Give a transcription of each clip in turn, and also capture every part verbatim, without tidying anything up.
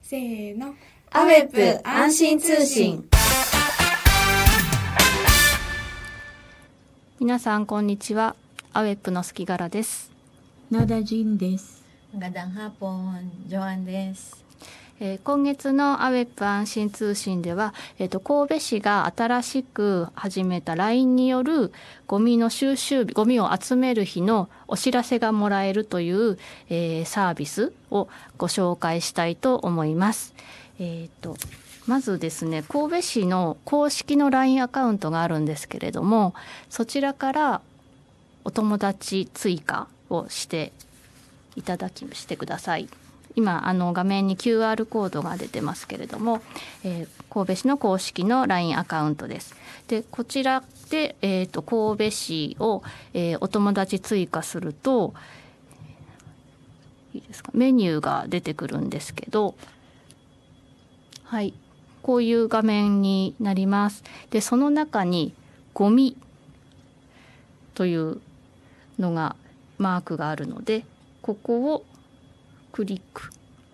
せーの。 アウェップ安心通信。 皆さんこんにちは。アウェップのすきがらです。 ナダジンです。 Magandang hapon、ジョアンです。 えー、今月のアウェップ安心通信では、えー、と神戸市が新しく始めた ライン によるゴミの収集日、ゴミを集める日のお知らせがもらえるという、えー、サービスをご紹介したいと思います。えー、とまずですね、神戸市の公式の ライン アカウントがあるんですけれども、そちらからお友達追加をしていただきしてください。今あの画面に キューアール コードが出てますけれども、えー、神戸市の公式の ライン アカウントです。でこちらで、えー、と神戸市を、えー、お友達追加するといいですか、メニューが出てくるんですけど、はい、こういう画面になります。でその中にゴミというのがマークがあるので、ここをクリック。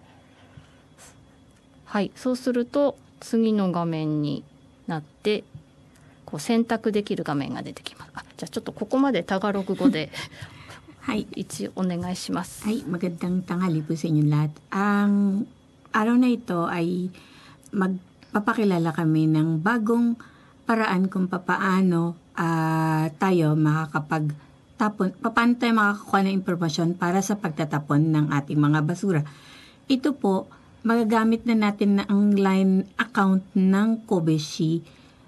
はい、そうすると次の画面になってこう選択できる画面が出てきます。あ、じゃあちょっとここまでタガログ語ではい、 一応お願いします。 はい、magandang tanghali po sa inyong lahat. Ang araw na ito ay magpapakilala kami ng bagong paraan kung papaano uh, tayo makakapag tapon, paano tayo makakakuha ng impormasyon para sa pagtatapon ng ating mga basura. Ito po, magagamit na natin na ang line account ng Kobeshi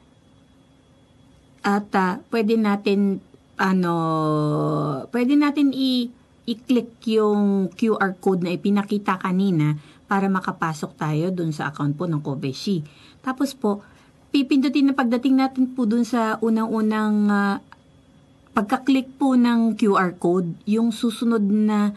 at uh, pwede natin ano, pwede natin i- i-click yung Q R code na ipinakita kanina para makapasok tayo dun sa account po ng Kobeshi. Tapos po, pipindutin na pagdating natin po dun sa unang-unang uh, pagka-click po ng Q R code, yung susunod na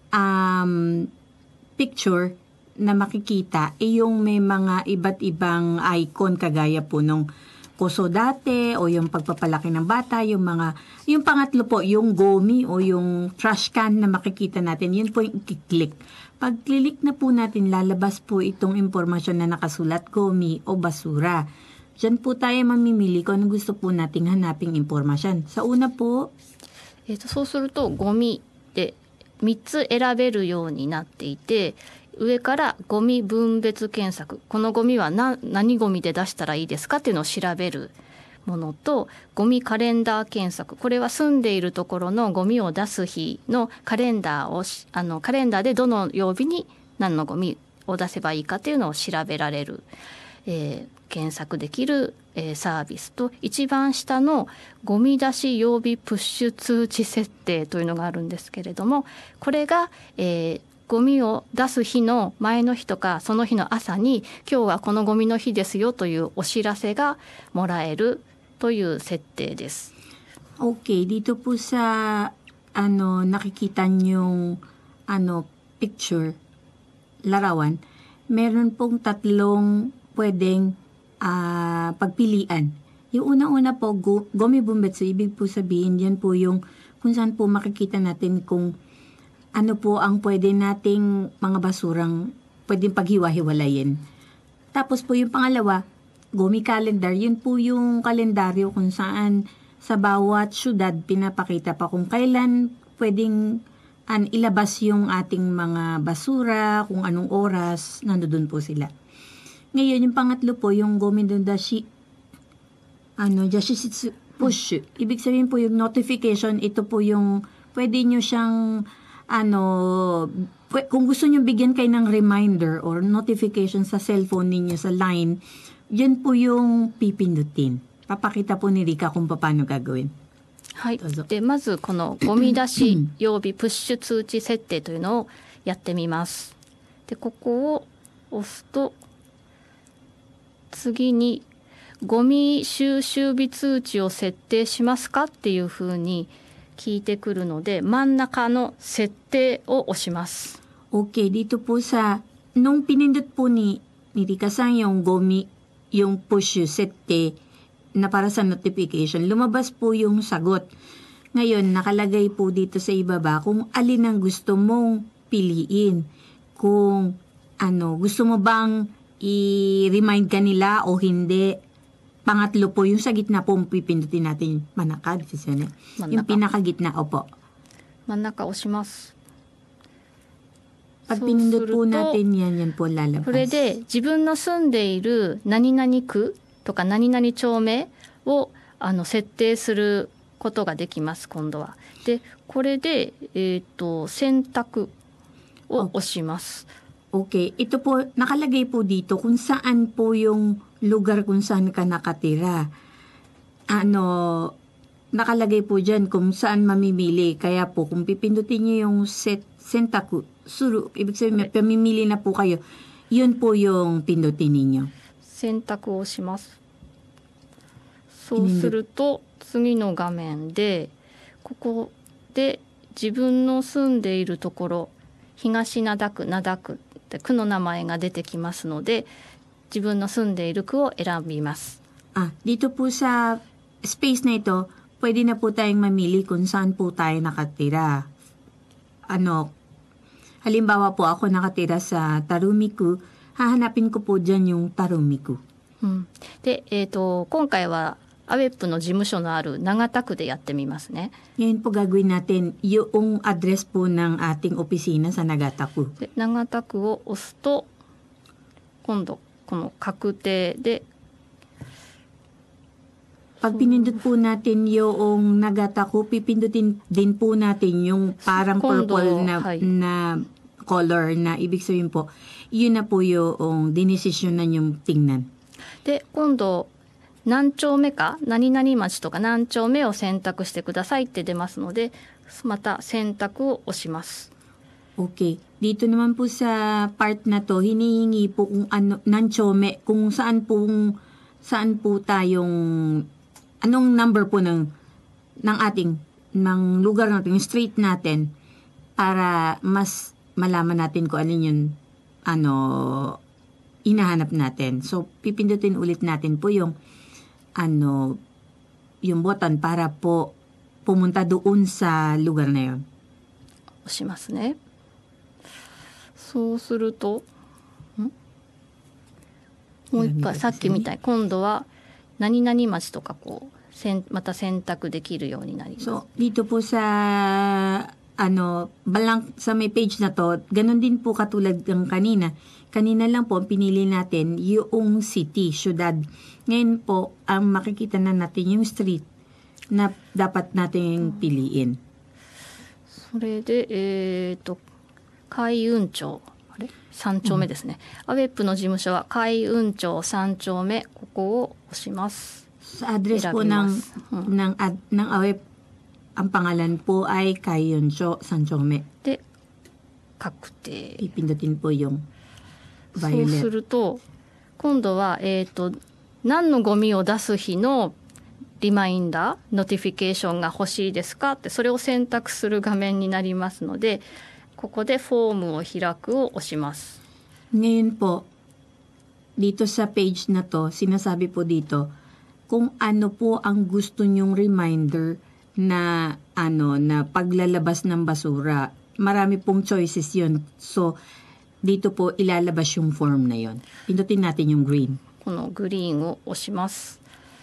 um, picture na makikita ay yung may mga iba't ibang icon kagaya po nung Koso dati o yung pagpapalaki ng bata, yung mga, yung pangatlo po, yung gomi o yung trash can na makikita natin, yun po yung i-click. Pag click na po natin, lalabas po itong impormasyon na nakasulat, gomi o basura. Diyan po tayo mamimili kung ano gusto po nating hanaping impormasyon. Sa una po、 えー、とそうするとゴミでみっつ選べるようになっていて、上からゴミ分別検索、このゴミは何、何ゴミで出したらいいですかっていうのを調べるものと、ゴミカレンダー検索、これは住んでいるところのゴミを出す日のカレンダーをあのカレンダーでどの曜日に何のゴミを出せばいいかっていうのを調べられる、えー、検索できる、えー、サービスと、一番下のゴミ出し曜日プッシュ通知設定というのがあるんですけれども、これが、えーゴミを出す日の前の日とかその日の朝に今日はこのゴミの日ですよというお知らせがもらえるという設定です。 Okay, dito po sa ano nakikita niyong ano picture larawan, meron pong tatlong pwedeng uh, pagpilian. Yung unang-una po, go, gomi bumbetsu, ibig po sabihin yan po yung kung saan po makikita natin kung ano po ang pwede nating mga basurang pwedeng paghiwa-hiwalayin. Tapos po yung pangalawa, gomi calendar, yun po yung kalendaryo kung saan sa bawat syudad pinapakita pa kung kailan pwedeng an, ilabas yung ating mga basura, kung anong oras, nandoon po sila. Ngayon, yung pangatlo po, yung gomi dashi, ano, jashishitsu push. Ibig sabihin po yung notification, ito po yung pwede nyo siyang ano, kung gusto nyo bigyan kayo ng reminder or notification sa cellphone ninyo sa line, yun po yung pipindutin. Papakita po ni Rika kung paano gagawin. はい、でまずこのゴミ出し曜日プッシュ通知設定というのをやってみます。でここを押すと次にゴミ収集日通知を設定しますかっていうふうに聞いてくるので、真ん中の設定を押します。 Okay, dito po sa nung pinindot po ni ni Rika-san yung gomi, yung push sette na para sa notification, lumabas po yung sagot. Ngayon, nakalagay po dito sa ibaba kung alin ang gusto mong piliin. Kung ano, gusto mo bang i-remind ka nila o hindi? Pangatlo po, yung sa gitna po, pipindutin natin yung manaka. This is yun, eh. Yung pinakagitna, opo. 真ん中押します。 Pag pinindot po natin yan, yan po lalabas. これで自分の住んでいる何々区とか何々町名をあの設定することができます、今度は。で、これで、えーと、選択を押します。 Okay. Ito po, nakalagay po dito kung saan po yung lugar kung saan ka nakatira. Ano, nakalagay po dyan kung saan mamimili. Kaya po, kung pipindutin niyo yung set, sentaku, suru, ibig sabihin, may pamimili na po kayo. Yun po yung pindutin ninyo. 選択をします。そうすると次の画面でここで自分の住んでいるところ、東灘区、灘区って区の名前が出てきますので、自分の住んでいる区を選びます。 Ah, dito po sa space na ito, pwede na po tayong mamili kung saan po tayo nakatira. Ano, halimbawa po ako nakatira sa Tarumiku, hahanapin ko po dyan yung Tarumiku. うん、で、えーと、今回はアウェップの事務所のある長田区でやってみますね。 Ngayon po gagawin natin yung address po ng ating opisina sa Nagataku. で、長田区を押すと今度この確定で Pag pinindot po natin yung Nagataku, pipindutin din po natin yung parang purple na, na color na ibig sabihin po, yun na po yung dinesisyonan yung tingnan. で、今度何丁目か何々町とか何丁目を選択してくださいって出ますので、また選択を押します。 Okay. Dito naman po sa part na to, hinihingi po kung ano, nanchome, kung saan po, saan po tayong, anong number po ng, ng ating, ng lugar natin, yung street natin, para mas malaman natin kung alin yung, ano, inahanap natin. So, pipindutin ulit natin po yung, ano, yung button para po pumunta doon sa lugar na yun. 押しますね。そうすると、んもう一回さっきみたい、今度は何々町とかこうせんまた選択できるようになります。 So, dito po sa ano, balang sa may page na to, ganun din po katulad ng kanina. Kanina lang po, pinili natin yung city, syudad. Ngayon po, ang makikita na natin yung street na dapat nating piliin. それで、えっと、海運町、あれさん丁目ですね。アウェップの事務所は海運町さん丁目、ここを押します。 Sa address po ng, ng, ad, ng A W E P, ang pangalan po ay Kaiyunsho Sanchome. で、確定。 Pipindutin po yung そう violet. すると今度は、えー、と何のゴミを出す日のリマインダーノティフィケーションが欲しいですかってそれを選択する画面になりますので、ここでフォームを開くを押します。 Ngayon po, dito sa page na to, sinasabi po dito kung ano po ang gusto nyong reminder na ano na paglalabas ng basura. Marami pong choices yun. So, dito po ilalabas yung form na yon. Pindutin natin yung green. このグリーンを押します。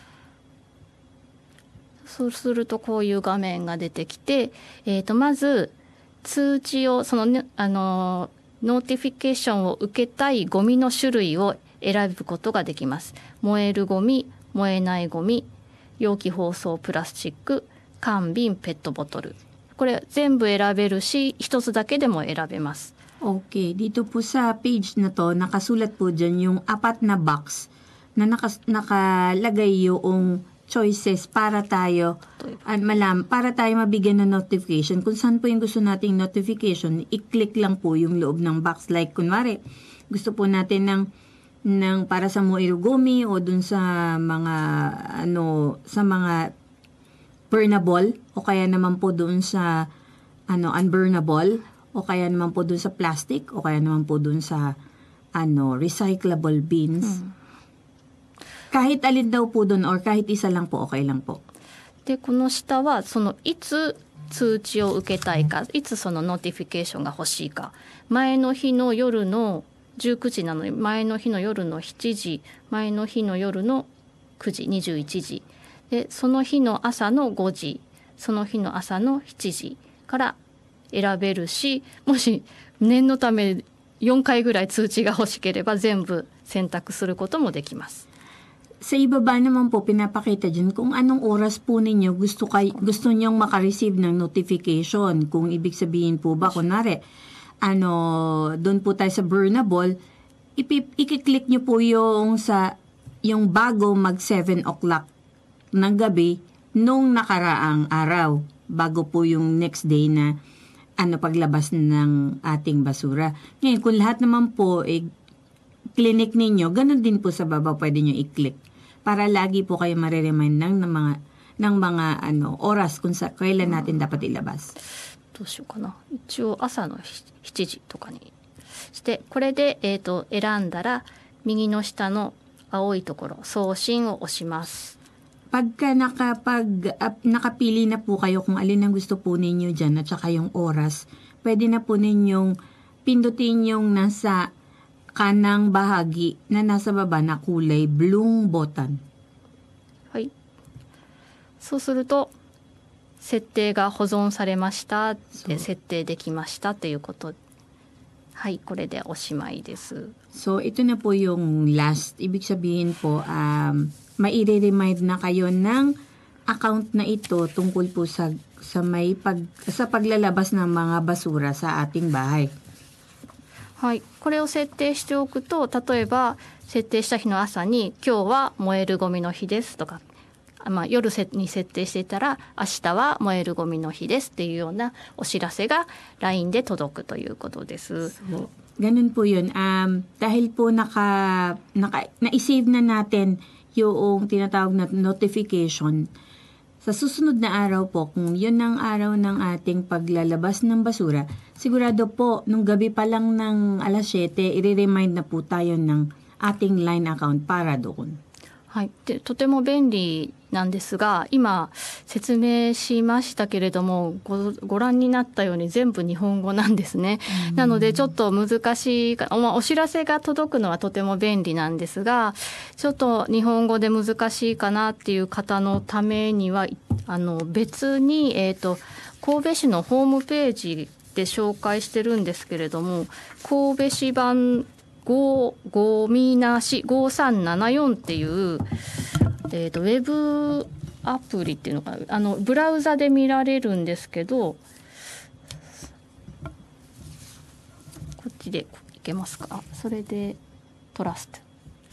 そうするとこういう画面が出てきて、えー、とまず通知をその、ね、あのノーティフィケーションを受けたいゴミの種類を選ぶことができます。燃えるゴミ、燃えないゴミ、容器包装プラスチック、缶瓶、ペットボトル。これ全部選べるし、一つだけでも選べます。 Okay, dito po sa page na to, nakasulat po dyan yung apat na box na nakas, nakalagay yung choices para tayo at malam, para tayo mabigyan ng notification. Kung saan po yung gusto nating notification, i-click lang po yung loob ng box. Like, kunwari, gusto po natin ng, ng para sa Moirugumi o dun sa mga, ano, sa mga burnable o kaya naman po dun sa, ano, unburnable o kaya naman po dun sa plastic o kaya naman po dun sa, ano, recyclable bins. Hmm. Kahit alin daw po dun or kahit isa lang po, okay lang po. で、この下はそのいつ通知を受けたいか、いつそのノーティフィケーションが欲しいか、前の日の夜のじゅうくじなので前の日の夜のしちじ、前の日の夜のくじ、にじゅういちじで、その日の朝のごじ、その日の朝のしちじから選べるし、もし念のためよんかいぐらい通知が欲しければ全部選択することもできます。 Sa ibaba naman po, pinapakita dyan kung anong oras po ninyo gusto, kay, gusto nyong makareceive ng notification. Kung ibig sabihin po ba, kunwari, ano, doon po tayo sa Burnable, ipip, ikiklik nyo po yung, sa, yung bago mag seven o'clock ng gabi nung nakaraang araw, bago po yung next day na ano paglabas ng ating basura. Ngayon, kung lahat naman po, eh, clinic ninyo, ganun din po sa baba pwede nyo i-click. Para lagi po kayo mariremind ng, ng mga ng mga ano oras kung sa kailan natin dapat ilabas. どうしようかな。一応朝のしちじとかにして、これで、えーと、選んだら右の下の青いところ送信を押します。 Pagka nakapag uh, nakapili na po kayo kung alin ang gusto po ninyo dyan at saka yung oras, pwede na po ninyong pindutin yung nasa kanang bahagi na nasa baba na kulay blue button. はい。そうすると設定が保存されましたで設定できましたということ。はい、これでおしまいです。 So ito na po yung last. Ibig sabihin po um, maire-remind na kayo ng account na ito tungkol po sa sa may pag sa paglalabas ng mga basura sa ating bahay. はい、これを設定しておくと、例えば設定した日の朝に今日は燃えるゴミの日ですとか、まあ、夜に設定していたら明日は燃えるゴミの日ですっていうようなお知らせが ライン で届くということです。 So, ganun po yun. Um, dahil po naka, naka, na-save na natin yung tinatawag na notification, sa susunod na araw po, kung yun ang araw ng ating paglalabas ng basura, sigurado po, nung gabi pa lang ng alas siyete, i-remind na po tayo ng ating LINE account para doon. はい、でとても便利なんですが、今説明しましたけれども ご, ご覧になったように全部日本語なんですね。なのでちょっと難しいか、まあ、お知らせが届くのはとても便利なんですが、ちょっと日本語で難しいかなっていう方のためにはあの別に、えーと、神戸市のホームページで紹介してるんですけれども、神戸市版ごゴミなしごさんななよんっていう、えーと、ウェブアプリっていうのかな、あのブラウザで見られるんですけど、こっちでいけますか。それでトラスト、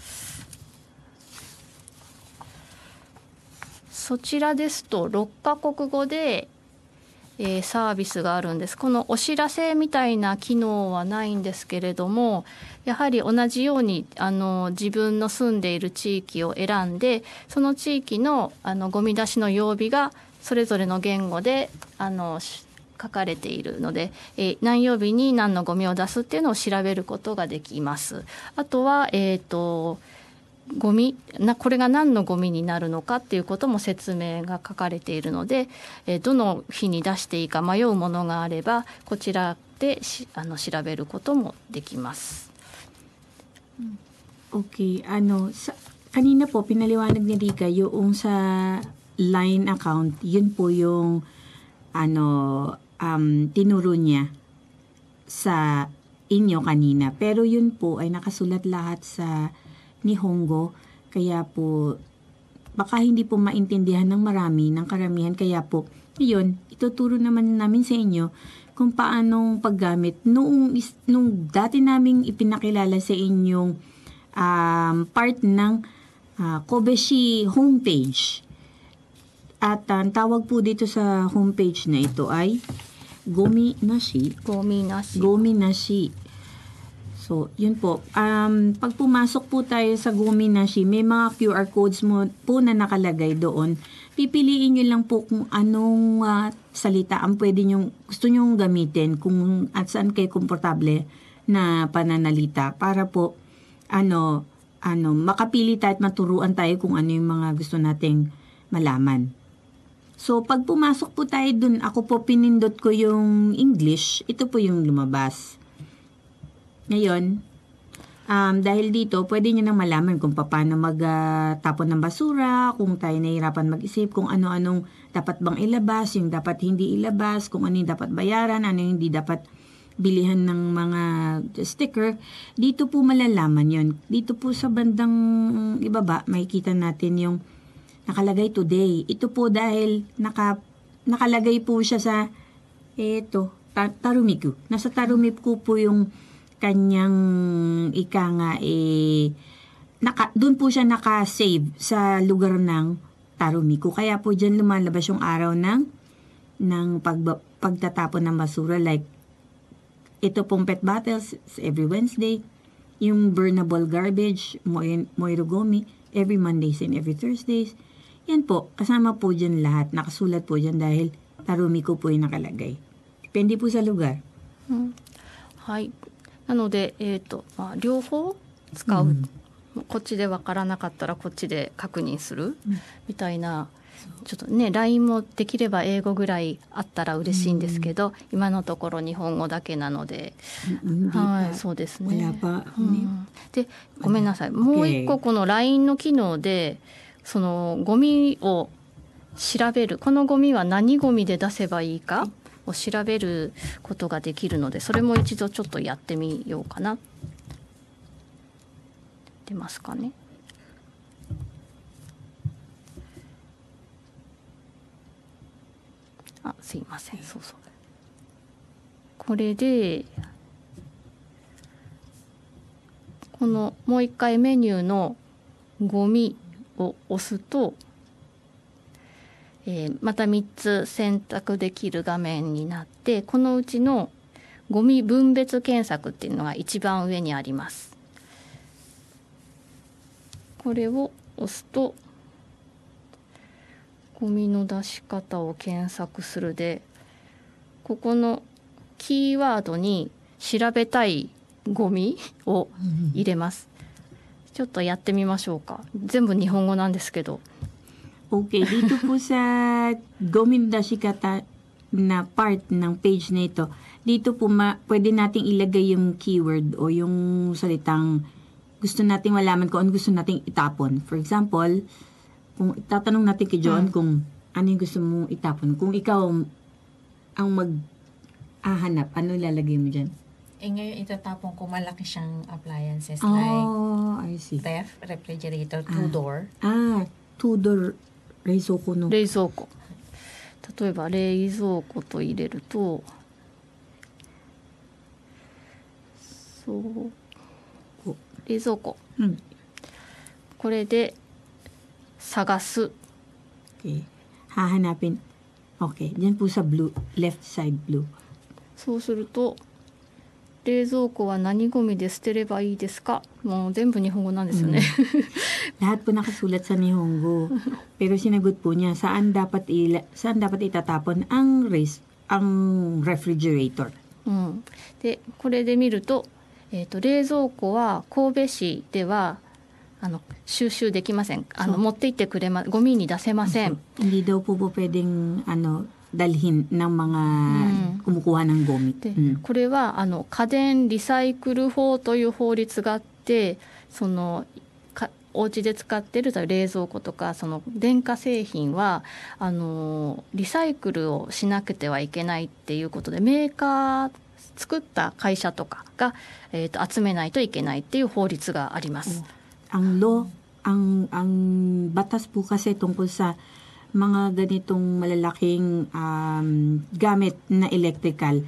そちらですとろっかこくごでえー、サービスがあるんです。このお知らせみたいな機能はないんですけれども、やはり同じようにあの自分の住んでいる地域を選んで、その地域のあのゴミ出しの曜日がそれぞれの言語であの書かれているので、えー、何曜日に何のゴミを出すっていうのを調べることができます。あとは、えーとゴミなこれが何のゴミになるのかっていうことも説明が書かれているので、えー、どの日に出していいか迷うものがあればこちらでしあの調べることもできます。 Okay, ano sa, kanina po pinaliwanag ni Rika yung sa LINE account, yun po yung ano um, tinuro niya sa inyo kanina. Pero yun po ay nakasulat lahat sa Nihongo, kaya po baka hindi po maintindihan ng marami, ng karamihan, kaya po yun, ituturo naman namin sa inyo kung paanong paggamit noong, nung dati naming ipinakilala sa inyong um, part ng uh, Kobeshi homepage. At ang uh, tawag po dito sa homepage na ito ay Gomi Nashi. Gomi Nashi. Gomi Nashi. So, yun po. Um, pag pumasok po tayo sa Gomi Nashi, may mga Q R codes mo po na nakalagay doon. Pipiliin nyo lang po kung anong uh, salita ang pwede nyo, gusto nyo gamitin, kung at saan kayo komportable na pananalita para po ano, ano, makapili tayo at maturuan tayo kung ano yung mga gusto nating malaman. So, pag pumasok po tayo doon, ako po pinindot ko yung English, ito po yung lumabas. Ngayon, Um, dahil dito, pwede nyo nang malaman kung paano magtapon ng basura, kung tayo nahihirapan mag-isip, kung ano-anong dapat bang ilabas, yung dapat hindi ilabas, kung ano yung dapat bayaran, ano yung hindi dapat bilihan ng mga sticker. Dito po malalaman yon. Dito po sa bandang ibaba, makikita natin yung nakalagay today. Ito po dahil naka, nakalagay po siya sa eto, ta- Tarumiku. Nasa Tarumiku po yung kanyang ika nga eh naka, doon po siya naka-save sa lugar ng Tarumiku. Kaya po diyan lumalabas yung araw ng ng pag, pagtatapon ng basura, like ito pong pet bottles every Wednesday, yung burnable garbage Moirogomi every Mondays and every Thursdays. Yan po, kasama po diyan lahat, nakasulat po diyan dahil Tarumiku po yung nakalagay. Depende po sa lugar. Hmm. はい。なので、えーとまあ、両方使う、うん、こっちで分からなかったらこっちで確認する、うん、みたいな、ちょっとね ライン もできれば英語ぐらいあったら嬉しいんですけど、うん、今のところ日本語だけなので、うん、はい、そうですね、うん、でごめんなさい、もう一個この ライン の機能でそのゴミを調べる、このゴミは何ゴミで出せばいいかを調べることができるので、それも一度ちょっとやってみようかな。出ますかね。あ、すいません、そうそう。これでこのもう一回メニューのゴミを押すと、えー、またみっつ選択できる画面になって、このうちのゴミ分別検索っていうのが一番上にあります。これを押すとゴミの出し方を検索するで、ここのキーワードに調べたいゴミを入れます。ちょっとやってみましょうか。全部日本語なんですけど。 Okay, dito po sa Gomindasikata na part ng page na ito, dito po ma, pwede nating ilagay yung keyword o yung salitang gusto nating malaman kung ano gusto nating itapon. For example, kung tatanong natin kay John hmm. kung ano yung gusto mong itapon. Kung ikaw ang mag-ahanap, ano lalagay mo dyan? Eh ngayon itatapon ko malaki siyang appliances oh, like I see. ref, refrigerator, two-door. Ah, ah two-door 冷蔵庫の冷蔵庫、例えば冷蔵庫と入れると、そう冷蔵庫、うん、これで探す、 okay. hahanapin. Okay, diyan po sa blue, left side blue. そうすると冷蔵庫は何ゴミで捨てればいいですか？もう全部日本語なんですよね。 Lahat po nakasulat sa Nihongo. Pero sinagot po niya saan dapat ila, saan dapat itatapon ang res, ang refrigerator. うん、でこれで見ると、えーと、冷蔵庫は神戸市ではあの収集できません。あの持って行ってくれま、ゴミに出せません。 Hindi daw po po pwedeng ano dalhin ng mga kumukuha ngゴミ。 で、うん、これはあの家電リサイクル法という法律があって、そのかお家で使っている冷蔵庫とかその電化製品はあのリサイクルをしなくてはいけないっていうことで、メーカー作った会社とかが、えー、と集めないといけないっていう法律があります。 Ang law, ang ang batas po kasi tungkol sa mga ganitong malalaking um, gamit na electrical,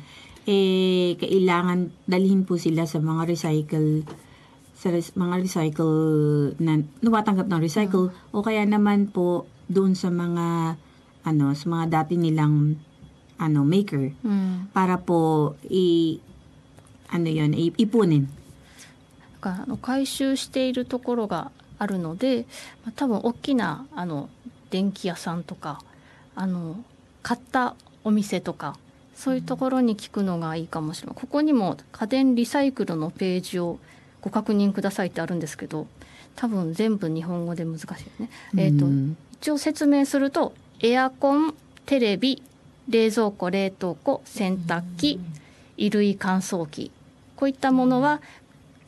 eh, kailangan dalhin po sila sa mga recycle, sa res, mga recycle na nawatanggap ng recycle, hmm. o kaya naman po doon sa mga, ano, sa mga dati nilang, ano, maker, hmm. para po, i, ano yun, i, ipunin. あの回収しているところがあるので、まあ、多分大きなあの電気屋さんとかあの買ったお店とかそういうところに聞くのがいいかもしれない。ここにも家電リサイクルのページをご確認くださいってあるんですけど、多分全部日本語で難しいよね。えーと、一応説明すると、エアコン、テレビ、冷蔵庫、冷凍庫、洗濯機、衣類乾燥機、こういったものは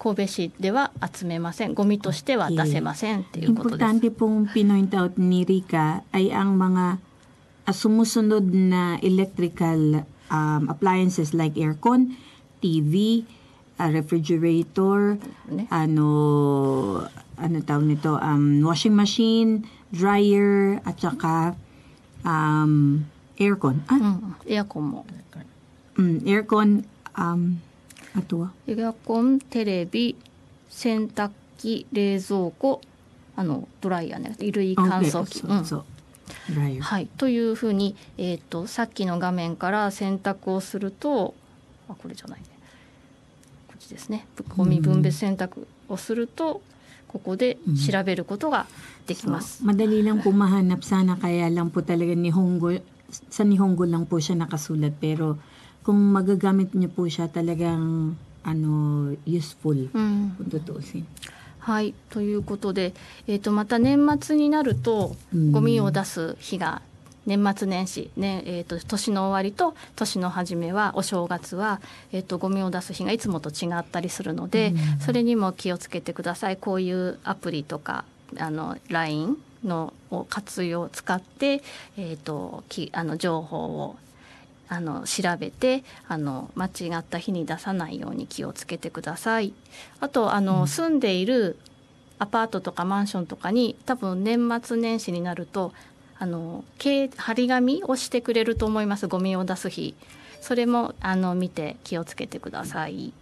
神戸市では集めません。ゴミとしては出せませんっていうことです。 Importante pong pinoint out ni Rica ay ang mga ah, sumusunod na electrical um, appliances like aircon, T V, ah, refrigerator, Ne? ano ano tawag nito, um, washing machine, dryer, at saka um, aircon. う Ah, ん、エアコンも mm, aircon, um, ato ah. エアコン、テレビ、洗濯機、冷蔵庫、あのドライヤーね、衣類乾燥機、 Okay, うん so, so, dryer. はい、というふうに、えー、とさっきの画面から選択をすると、あ、これじゃないね、こっちですね、ゴミ分別選択をすると、ここで調べることができます。 So, madali lang po mahanap sana, kaya lang po talaga Nihongo, sa Nihongo lang po siya nakasulat, pero kung magagamit niyo po siya talagang ano useful うん kung tutuusin. はい、ということで、えー、とまた年末になるとうんゴミを出す日が年末年始、ねえー、と年の終わりと年の初めはお正月は、えー、とゴミを出す日がいつもと違ったりするので、それにも気をつけてください。こういうアプリとかあの ライン のを活用を使って、えー、ときあの情報をあの調べてあの間違った日に出さないように気をつけてください。あとあの、住んでいるアパートとかマンションとかに多分年末年始になるとあの掲張り紙をしてくれると思います。ゴミを出す日、それもあの見て気をつけてください。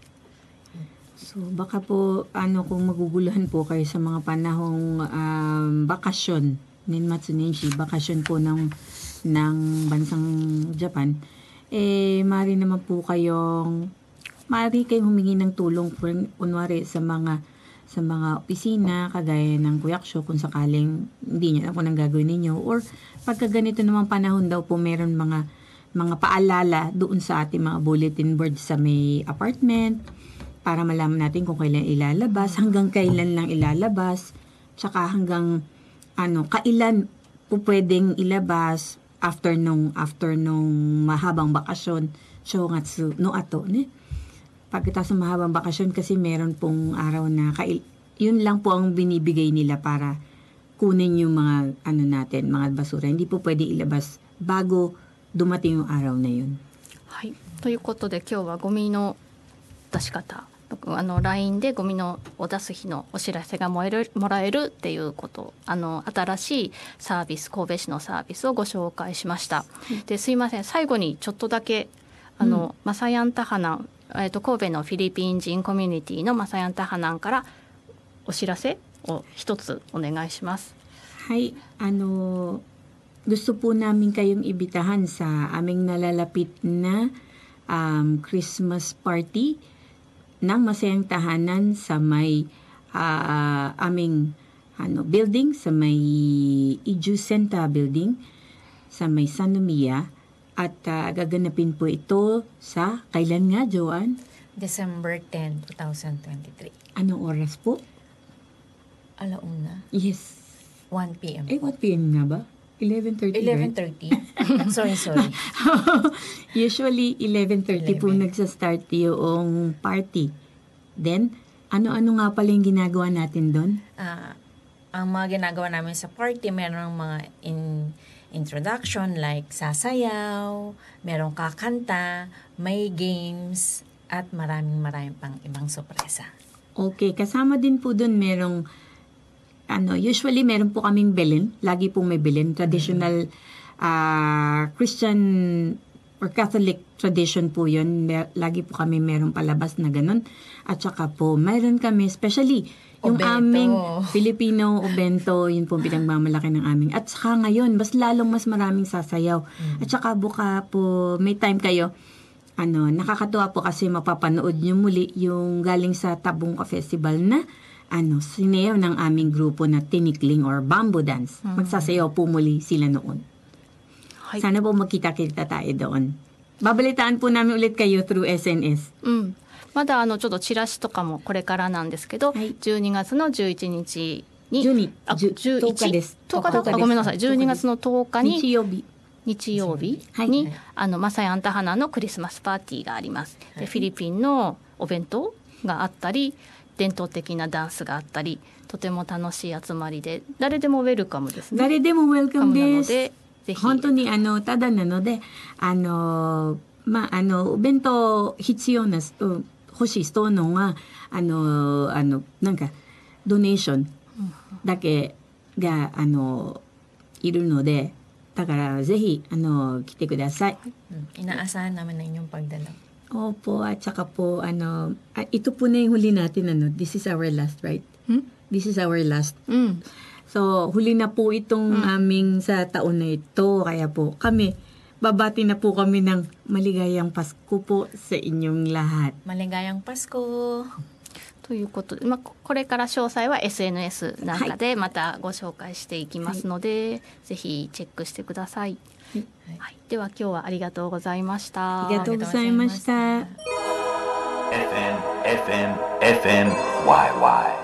So baka po ano kung maguguluhan po kayo sa mga panahong um, bakasyon, Nenmatsu Nenshi, bakasyon po ng ng bansang Japan, eh mari naman po kayong mari kayong humingi ng tulong po, kunwari sa mga sa mga opisina kagaya ng Kuyaksho kung sakaling hindi niyo alam kung anong gagawin ninyo, or pagka ganito namang panahon daw po meron mga mga paalala doon sa ating mga bulletin board sa may apartment para malaman natin kung kailan ilalabas, hanggang kailan lang ilalabas, tsaka hanggang ano kailan po pwedeng ilabas after nung after nung mahabang bakasyon. Shongatsu no ato ne. Pagkatapos ng mahabang bakasyon kasi meron pong araw na kail, yun lang po ang binibigay nila para kunin yung mga ano natin, mga basura. Hindi po pwede ilabas bago dumating yung araw na yun. はい、ということで今日はゴミの出し方、あの ライン でゴミのを出す日のお知らせがもらえる、もらえるっていうこと、あの新しいサービス、神戸市のサービスをご紹介しました。ですいません、最後にちょっとだけあの、マサヤンタハナン、えー、と神戸のフィリピン人コミュニティのマサヤンタハナンからお知らせを一つお願いします。 Hay, ano, gusto po namin kayong ibitahan sa aming nalalapit na um, Christmas party ng Masayang Tahanan sa may uh, aming ano, building, sa may Iju Senta building, sa may San Lucia. At uh, gaganapin po ito sa, kailan nga, Joanne? December tenth, twenty twenty-three. Anong oras po? Alauna, Yes. one p.m. Eh, po. what p m nga ba? eleven thirty, eleven right? thirty. sorry, sorry. Usually, eleven thirty po eleven. nagsa-start yung party. Then, ano-ano nga pala yung ginagawa natin doon? Ah, ang mga ginagawa namin sa party, merong mga in introduction like sasayaw, merong kakanta, may games, at maraming maraming pang ibang sorpresa. Okay, kasama din po doon merong, ano, usually meron po kaming Belen. Lagi pong may Belen. Traditional ah, Christian or Catholic tradition po yun. Mer- Lagi po kami merong palabas na ganun. At saka po, meron kami, especially, yung Obento. aming Filipino Obento, yun po pinagmamalaki ng aming. At saka ngayon, mas lalong mas maraming sasayaw. At saka buka po, may time kayo, ano, nakakatuwa po kasi mapapanood nyo muli yung galing sa Tabungka Festival na ano, sinayaw ng aming grupo na Tinikling or Bamboo Dance. Magsasayaw po muli sila noon. Hay. Sana po magkita-kita tayo doon. Babalitaan po namin ulit kayo through S N S. うん、まだあのちょっとチラシとかもこれからなんですけど、 はいじゅうにがつのじゅういちにちに、 じゅうにあ、 じゅうじゅういちとおかですとおかだとおかですあごめんなさい、じゅうにがつのとおかに日曜日。 日曜日はいに、あのマサヤンタハナのクリスマスパーティーがあります。でフィリピンのお弁当があったり、 伝統的なダンスがあったり、とても楽しい集まりで、誰でもウェルカムですね。 誰でもウェルカムなです。 のでぜひ本当にあのただなので、あのまああのお弁当必要なうん欲しい人のはあのあのなんかドネーションだけがあのいるので、だからぜひあの来てください。 Mm, Inaasahan namin na inyong pagdala. Opo, at saka po ano, ah, ito po na yung huli natin ano. This is our last, right? Hmm? This is our last. うん、 So, huli na po itong aming sa taon na ito. Kaya po kami, babati na po kami ng maligayang Pasko po sa inyong lahat. Maligayang Pasko! ということで、まあ、これから詳細は エスエヌエス なんかでまたご紹介していきますので、ぜひチェックしてください。 はいはい、では今日はありがとうございました。 ありがとうございました。 エフエム、エフエム、エフエム、ワイワイ